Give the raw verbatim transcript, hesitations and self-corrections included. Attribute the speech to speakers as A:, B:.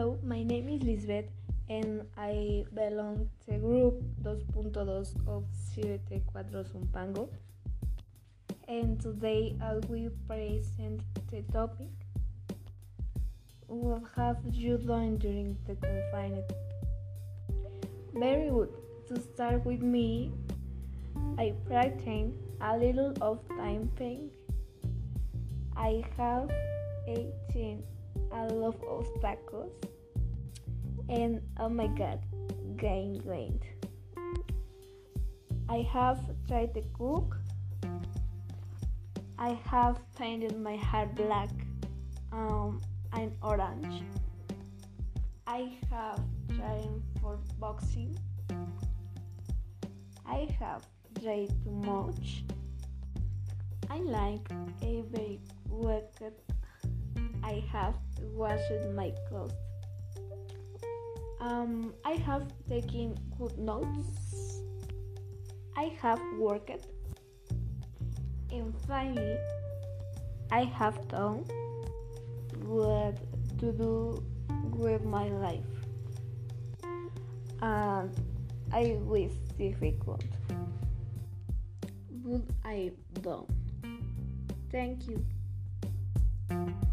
A: Hello, my name is Lisbeth and I belong to group two point two of siete cuatro Zumpango. And today I will present the topic: what have you done during the confinement? Very good. To start with me, I practice a little of time pain. I have eaten a lot of tacos and oh my god, gained weight. I have tried to cook. I have painted my hair black um, and orange. I have trained for boxing. I have read too much. I like every weekend. I have washed my clothes. Um, I have taken good notes. I have worked. And finally, I have done what to do with my life. And I was difficult, but I done. Thank you.